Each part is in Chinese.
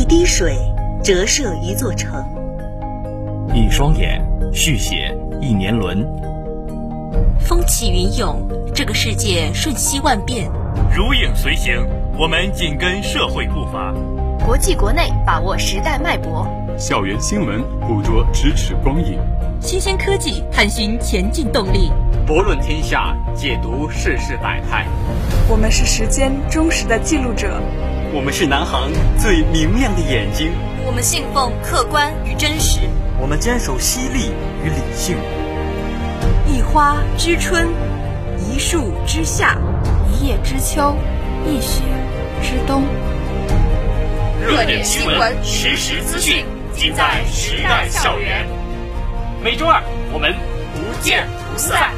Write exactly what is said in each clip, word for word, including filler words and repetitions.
滴水折射一座城， 一双眼续写一年轮。 风起云涌，这个世界瞬息万变。 如影随形，我们紧跟社会步伐。 国际国内把握时代脉搏， 校园新闻捕捉咫尺光影， 新鲜科技探寻前进动力， 博论天下，解读世事百态。 我们是时间忠实的记录者， 我们是南航最明亮的眼睛， 我们信奉客观与真实， 我们坚守犀利与理性。 一花知春，一树知夏， 一叶知秋，一雪知冬。 热点新闻，实时资讯，尽在时代校园。每周二我们不见不散。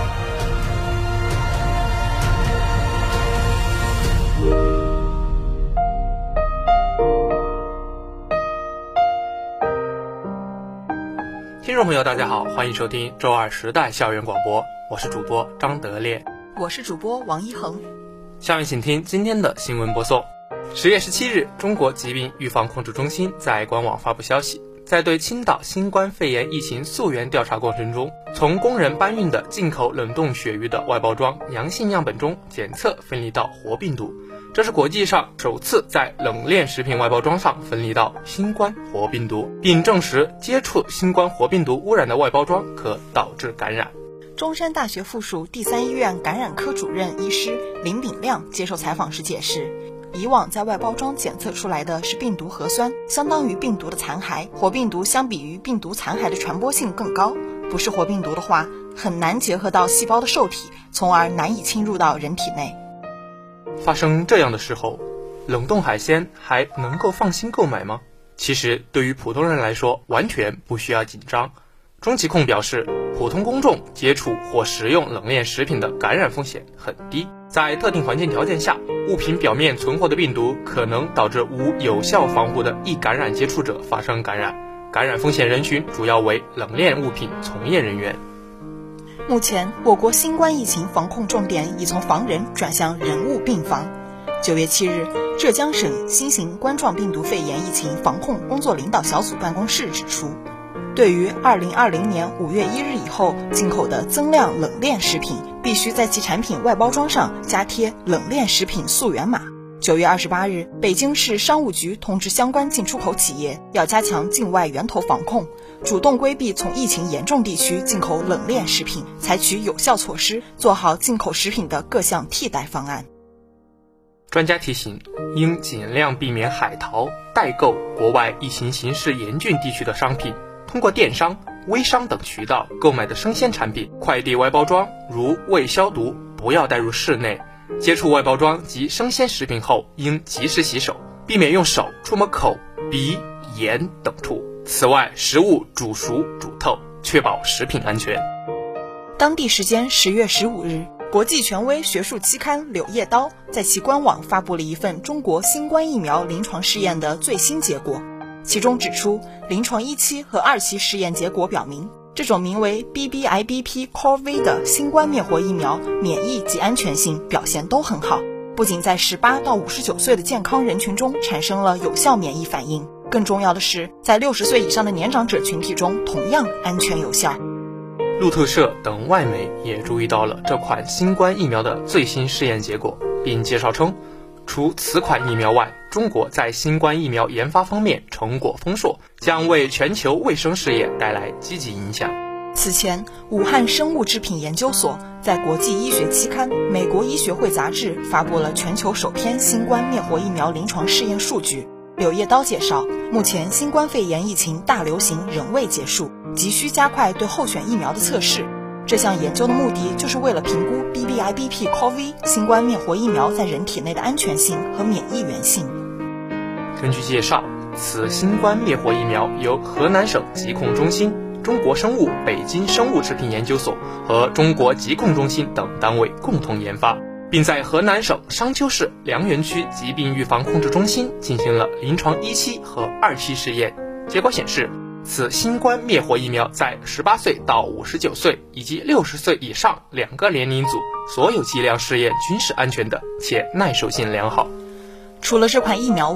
听众朋友大家好，欢迎收听周二时代校园广播，我是主播张德烈， 我是主播王一恒。 下面请听今天的新闻播送。十月十七日，中国疾病预防控制中心在官网发布消息，在对青岛新冠肺炎疫情溯源调查过程中，从工人搬运的进口冷冻鳕鱼的外包装阳性样本中检测分离到活病毒，这是国际上首次在冷链食品外包装上分离到新冠活病毒，并证实接触新冠活病毒污染的外包装可导致感染。 中山大学附属第三医院感染科主任医师林炳亮接受采访时解释，以往在外包装检测出来的是病毒核酸，相当于病毒的残骸，活病毒相比于病毒残骸的传播性更高，不是活病毒的话，很难结合到细胞的受体，从而难以侵入到人体内。 发生这样的时候，冷冻海鲜还能够放心购买吗？其实对于普通人来说，完全不需要紧张。中疾控表示，普通公众接触或食用冷链食品的感染风险很低，在特定环境条件下，物品表面存活的病毒可能导致无有效防护的易感染接触者发生感染，感染风险人群主要为冷链物品从业人员。 目前，我国新冠疫情防控重点已从防人转向人物病防。九月七日，浙江省新型冠状病毒肺炎疫情防控工作领导小组办公室指出，对于二零二零年五月一日以后进口的增量冷链食品，必须在其产品外包装上加贴冷链食品溯源码。九月二十八日，北京市商务局通知相关进出口企业要加强境外源头防控，主动规避从疫情严重地区进口冷链食品，采取有效措施，做好进口食品的各项替代方案。 专家提醒，应尽量避免海淘、代购国外疫情形势严峻地区的商品，通过电商、微商等渠道购买的生鲜产品，快递外包装如未消毒，不要带入室内。接触外包装及生鲜食品后，应及时洗手，避免用手触摸口、鼻、眼等处。此外，食物煮熟、煮透，确保食品安全。 当地时间十月十五日，国际权威学术期刊《柳叶刀》在其官网发布了一份中国新冠疫苗临床试验的最新结果。其中指出，临床一期和二期试验结果表明，这种名为 B B I B P C O V 的新冠灭活疫苗免疫及安全性表现都很好，不仅在十八到五十九岁的健康人群中产生了有效免疫反应，更重要的是，在六十岁以上的年长者群体中同样安全有效。 路透社等外媒也注意到了这款新冠疫苗的最新试验结果，并介绍称，除此款疫苗外，中国在新冠疫苗研发方面成果丰硕，将为全球卫生事业带来积极影响。 此前，武汉生物制品研究所在国际医学期刊《美国医学会杂志》发布了全球首篇新冠灭活疫苗临床试验数据。柳叶刀介绍，目前新冠肺炎疫情大流行仍未结束，急需加快对候选疫苗的测试。这项研究的目的就是为了评估 B B I B P C O V 新冠灭活疫苗在人体内的安全性和免疫原性。 根据介绍，此新冠灭活疫苗由河南省疾控中心、中国生物北京生物制品研究所和中国疾控中心等单位共同研发，并在河南省商丘市梁园区疾病预防控制中心进行了临床一期和二期试验。结果显示，此新冠灭活疫苗在十八岁到五十九岁以及六十岁以上两个年龄组所有剂量试验均是安全的，且耐受性良好。 除了这款疫苗外，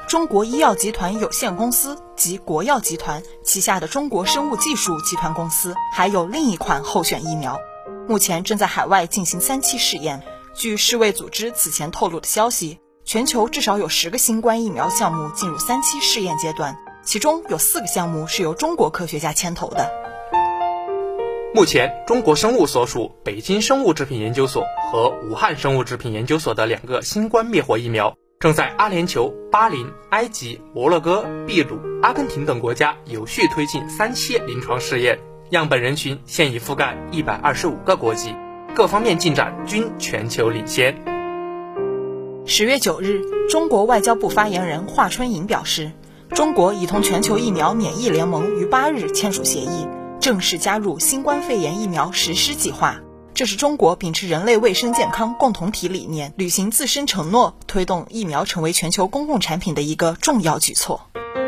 中国医药集团有限公司及国药集团旗下的中国生物技术集团公司还有另一款候选疫苗，目前正在海外进行三期试验。据世卫组织此前透露的消息，全球至少有十个新冠疫苗项目进入三期试验阶段，其中有四个项目是由中国科学家牵头的。 目前，中国生物所属北京生物制品研究所和武汉生物制品研究所的两个新冠灭活疫苗，正在阿联酋、巴林、埃及、摩洛哥、秘鲁、阿根廷等国家有序推进三期临床试验，样本人群现已覆盖一百二十五个国籍，各方面进展均全球领先。 十月九日，中国外交部发言人华春莹表示，中国已同全球疫苗免疫联盟于八日签署协议，正式加入新冠肺炎疫苗实施计划。这是中国秉持人类卫生健康共同体理念，履行自身承诺，推动疫苗成为全球公共产品的一个重要举措。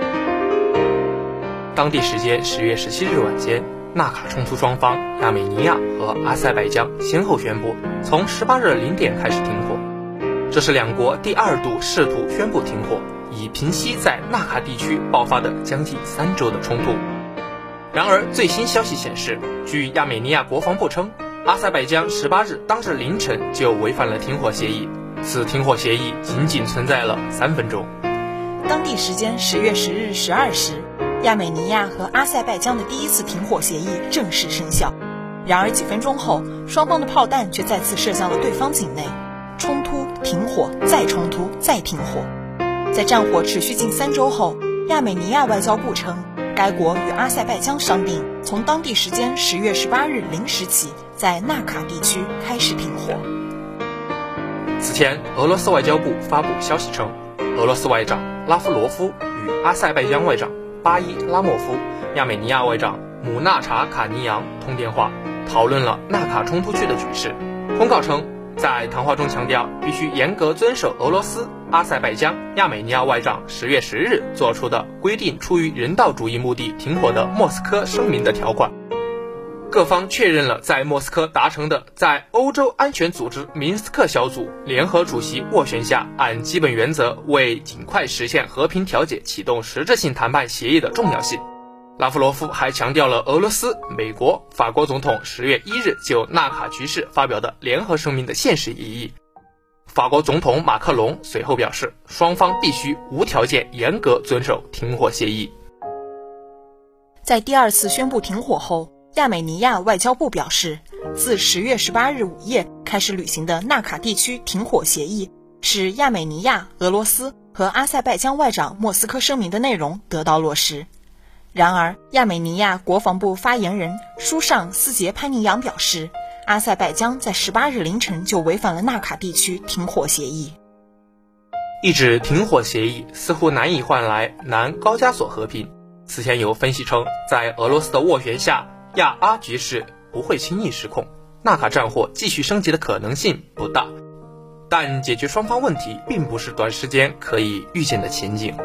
当地时间十月十七日晚间，纳卡冲突双方亚美尼亚和阿塞拜疆先后宣布从十八日零点开始停火，这是两国第二度试图宣布停火，以平息在纳卡地区爆发的将近三周的冲突。然而最新消息显示，据亚美尼亚国防部称，阿塞拜疆十八日当日凌晨就违反了停火协议，此停火协议仅仅存在了三分钟。 当地时间十月十日十二时，亚美尼亚和阿塞拜疆的第一次停火协议正式生效。然而几分钟后，双方的炮弹却再次射向了对方境内，冲突、停火、再冲突、再停火。在战火持续近三周后，亚美尼亚外交部称，该国与阿塞拜疆商定，从当地时间十月十八日零时起，在纳卡地区开始停火。 此前，俄罗斯外交部发布消息称，俄罗斯外长拉夫罗夫与阿塞拜疆外长巴伊拉莫夫、亚美尼亚外长姆纳查卡尼扬通电话，讨论了纳卡冲突区的局势。通告称，在谈话中强调必须严格遵守俄罗斯、阿塞拜疆、亚美尼亚外长十月十日做出的规定出于人道主义目的停火的莫斯科声明的条款。各方确认了在莫斯科达成的在欧洲安全组织明斯克小组联合主席斡旋下按基本原则为尽快实现和平调解启动实质性谈判协议的重要性。拉夫罗夫还强调了俄罗斯、美国、法国总统十月一日就纳卡局势发表的联合声明的现实意义。法国总统马克龙随后表示，双方必须无条件严格遵守停火协议。 在第二次宣布停火后，亚美尼亚外交部表示，自十月十八日午夜开始履行的纳卡地区停火协议，使亚美尼亚、俄罗斯和阿塞拜疆外长莫斯科声明的内容得到落实。然而，亚美尼亚国防部发言人舒尚斯杰潘尼扬表示，阿塞拜疆在十八日凌晨就违反了纳卡地区停火协议。 一纸停火协议似乎难以换来南高加索和平。此前有分析称，在俄罗斯的斡旋下，亚阿局势不会轻易失控，纳卡战火继续升级的可能性不大。但解决双方问题并不是短时间可以预见的前景。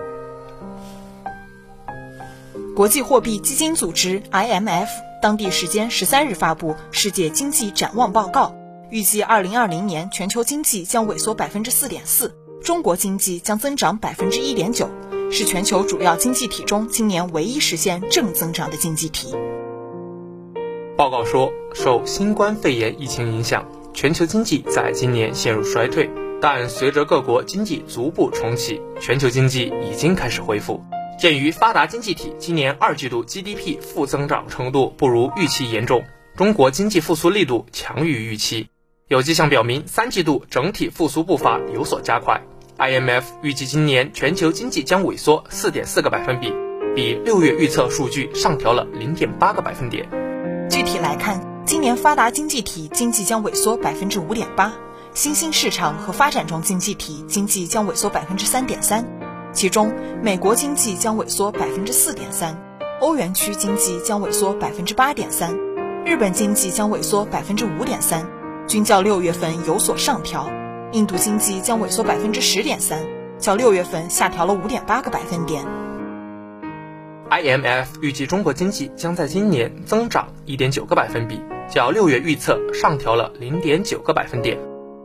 国际货币基金组织 I M F 当地时间十三日发布世界经济展望报告，预计二零二零年全球经济将萎缩 百分之四点四， 中国经济将增长 百分之一点九， 是全球主要经济体中今年唯一实现正增长的经济体。 报告说，受新冠肺炎疫情影响，全球经济在今年陷入衰退，但随着各国经济逐步重启，全球经济已经开始恢复。鉴于发达经济体今年二季度 G D P 负增长程度不如预期严重，中国经济复苏力度强于预期，有迹象表明三季度整体复苏步伐有所加快。I M F 预计今年全球经济将萎缩 四点四个百分比，比六月预测数据上调了 零点八个百分点。 具体来看，今年发达经济体经济将萎缩 百分之五点八， 新兴市场和发展中经济体经济将萎缩 百分之三点三， 其中美国经济将萎缩 百分之四点三， 欧元区经济将萎缩 百分之八点三， 日本经济将萎缩 百分之五点三， 均较六月份有所上调。印度经济将萎缩 百分之十点三， 较六月份下调了 五点八个百分点。 I M F 预计中国经济将在今年增长 一点九个百分比，较六月预测上调了 零点九个百分点。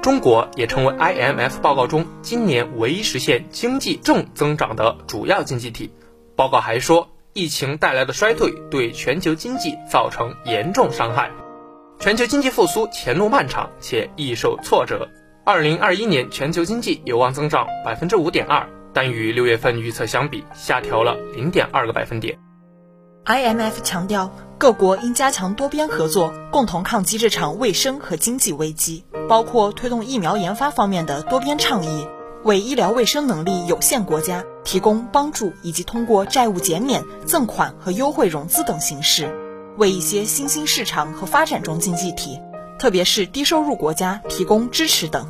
中国也成为 I M F 报告中今年唯一实现经济正增长的主要经济体。报告还说，疫情带来的衰退对全球经济造成严重伤害，全球经济复苏前路漫长且易受挫折。二零二一年全球经济有望增长 百分之五点二， 但与六月份预测相比下调了 零点二个百分点。 I M F 强调，各国应加强多边合作，共同抗击这场卫生和经济危机，包括推动疫苗研发方面的多边倡议，为医疗卫生能力有限国家提供帮助，以及通过债务减免、赠款和优惠融资等形式，为一些新兴市场和发展中经济体，特别是低收入国家提供支持等。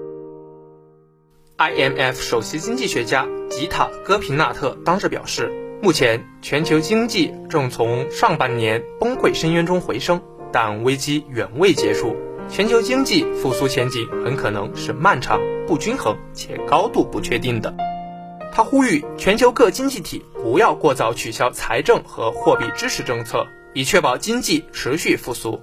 I M F 首席经济学家吉塔·戈平纳特当日表示，目前全球经济正从上半年崩溃深渊中回升，但危机远未结束，全球经济复苏前景很可能是漫长、不均衡且高度不确定的。他呼吁全球各经济体不要过早取消财政和货币支持政策，以确保经济持续复苏。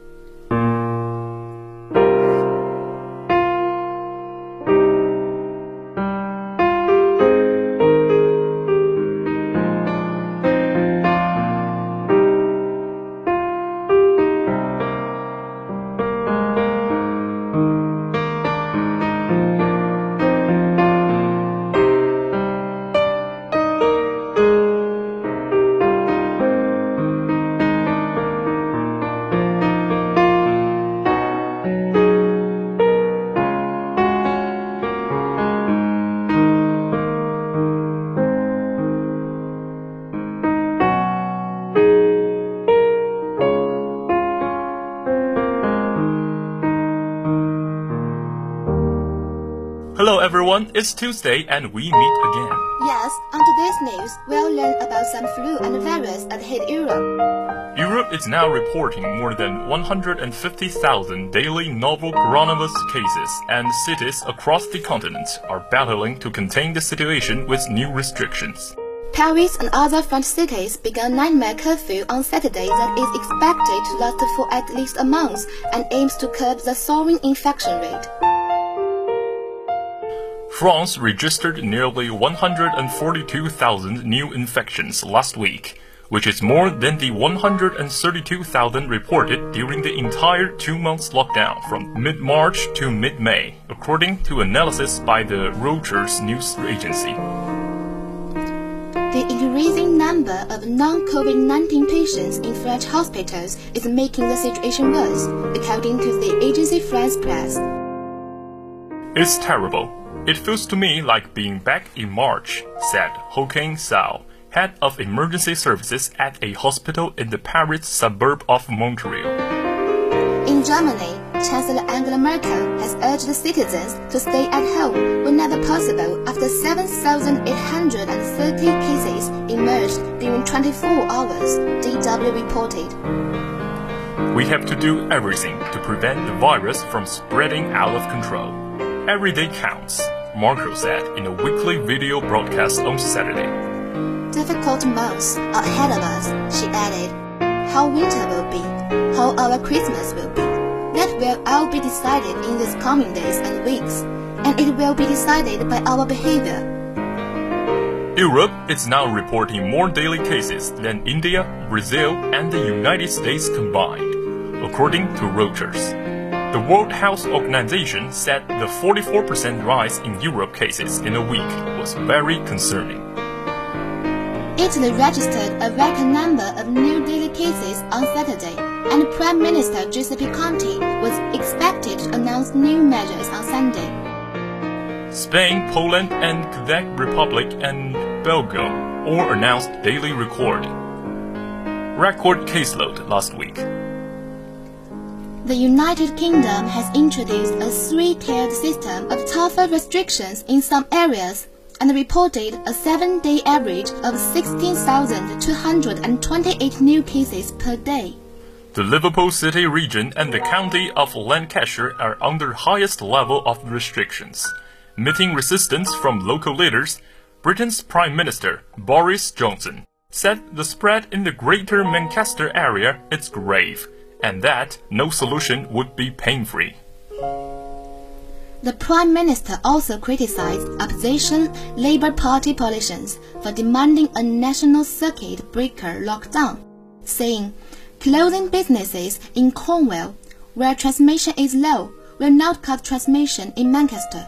Hello everyone, it's Tuesday and we meet again. Yes, on today's news, we'll learn about some flu and virus that hit Europe. Europe is now reporting more than one hundred fifty thousand daily novel coronavirus cases, and cities across the continent are battling to contain the situation with new restrictions. Paris and other French cities began nightmare curfew on Saturday that is expected to last for at least a month and aims to curb the soaring infection rate. France registered nearly one hundred forty-two thousand new infections last week, which is more than the one hundred thirty-two thousand reported during the entire two months lockdown from mid-March to mid-May, according to analysis by the Reuters news agency. The increasing number of non-COVID nineteen patients in French hospitals is making the situation worse, according to the agency France Presse. It's terrible. It feels to me like being back in March, said Hoquin Sao, head of emergency services at a hospital in the Paris suburb of Montreal. In Germany, Chancellor Angela Merkel has urged citizens to stay at home whenever possible after seven thousand eight hundred thirty cases emerged during twenty-four hours, D W reported. We have to do everything to prevent the virus from spreading out of control. Every day counts, Merkel said in a weekly video broadcast on Saturday. Difficult months are ahead of us, she added. How winter will be, how our Christmas will be, that will all be decided in these coming days and weeks, and it will be decided by our behavior. Europe is now reporting more daily cases than India, Brazil, and the United States combined, according to Reuters. The World Health Organization said the forty-four percent rise in Europe cases in a week was very concerning. Italy registered a record number of new daily cases on Saturday, and Prime Minister Giuseppe Conte was expected to announce new measures on Sunday. Spain, Poland, and Czech Republic and Belgium all announced daily record record caseload last week. The United Kingdom has introduced a three-tiered system of tougher restrictions in some areas and reported a seven-day average of sixteen thousand two hundred twenty-eight new cases per day. The Liverpool City region and the county of Lancashire are under highest level of restrictions. Meeting resistance from local leaders, Britain's Prime Minister Boris Johnson said the spread in the Greater Manchester area is grave, and that no solution would be pain-free. The Prime Minister also criticized opposition Labour Party politicians for demanding a national circuit breaker lockdown, saying, closing businesses in Cornwall, where transmission is low, will not cut transmission in Manchester.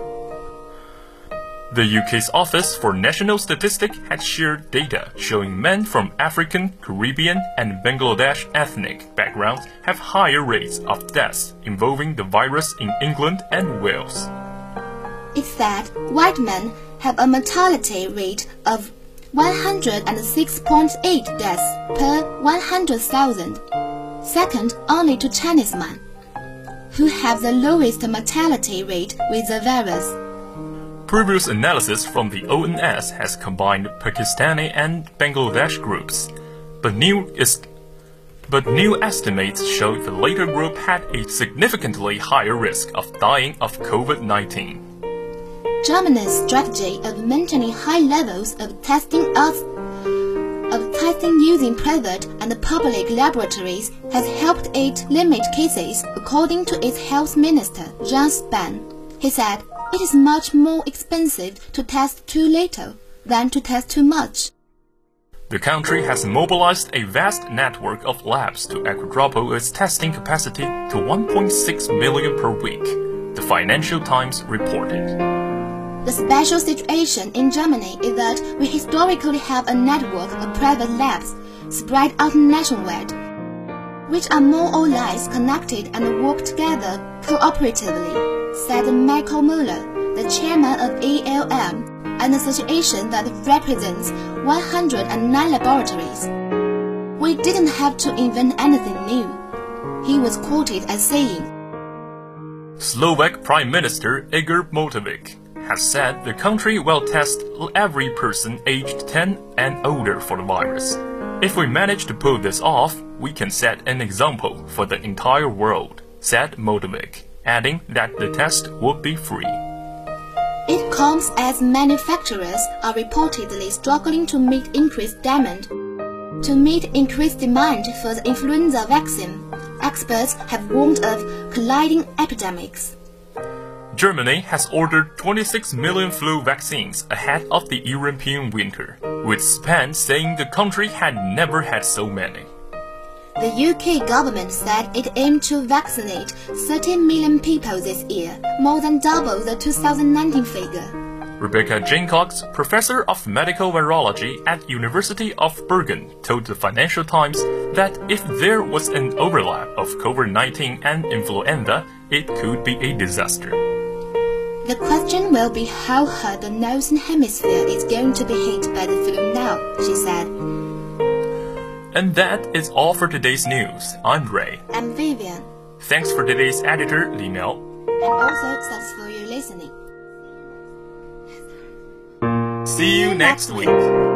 The U K's Office for National Statistics had shared data showing men from African, Caribbean, and Bangladesh ethnic backgrounds have higher rates of deaths involving the virus in England and Wales. It said white men have a mortality rate of one hundred six point eight deaths per one hundred thousand, second only to Chinese men, who have the lowest mortality rate with the virus. Previous analysis from the O N S has combined Pakistani and Bangladesh groups, but new, is, but new estimates show the later group had a significantly higher risk of dying of COVID nineteen. Germany's strategy of maintaining high levels of testing of, of testing using private and public laboratories has helped it limit cases, according to its health minister, Jens Spahn. He said, it is much more expensive to test too little than to test too much. The country has mobilized a vast network of labs to quadruple its testing capacity to one point six million per week, the Financial Times reported. The special situation in Germany is that we historically have a network of private labs spread out nationwide, which are more or less connected and work together cooperatively, said Michael Muller, the chairman of A L M, an association that represents one hundred nine laboratories. We didn't have to invent anything new, he was quoted as saying. Slovak Prime Minister Igor Matovic has said the country will test every person aged ten and older for the virus. If we manage to pull this off, we can set an example for the entire world, said Matovic, adding that the test would be free. It comes as manufacturers are reportedly struggling to meet increased demand. To meet increased demand for the influenza vaccine, experts have warned of colliding epidemics. Germany has ordered twenty-six million flu vaccines ahead of the European winter, with Spain saying the country had never had so many. The U K government said it aimed to vaccinate thirteen million people this year, more than double the two thousand nineteen figure. Rebecca Jacox, professor of medical virology at University of Bergen, told the Financial Times that if there was an overlap of COVID nineteen and influenza, it could be a disaster. The question will be how hard the northern hemisphere is going to be hit by the flu now, she said. And that is all for today's news. I'm Ray. I'm Vivian. Thanks for today's editor, Li Miao. And also thanks for your listening. See you next week.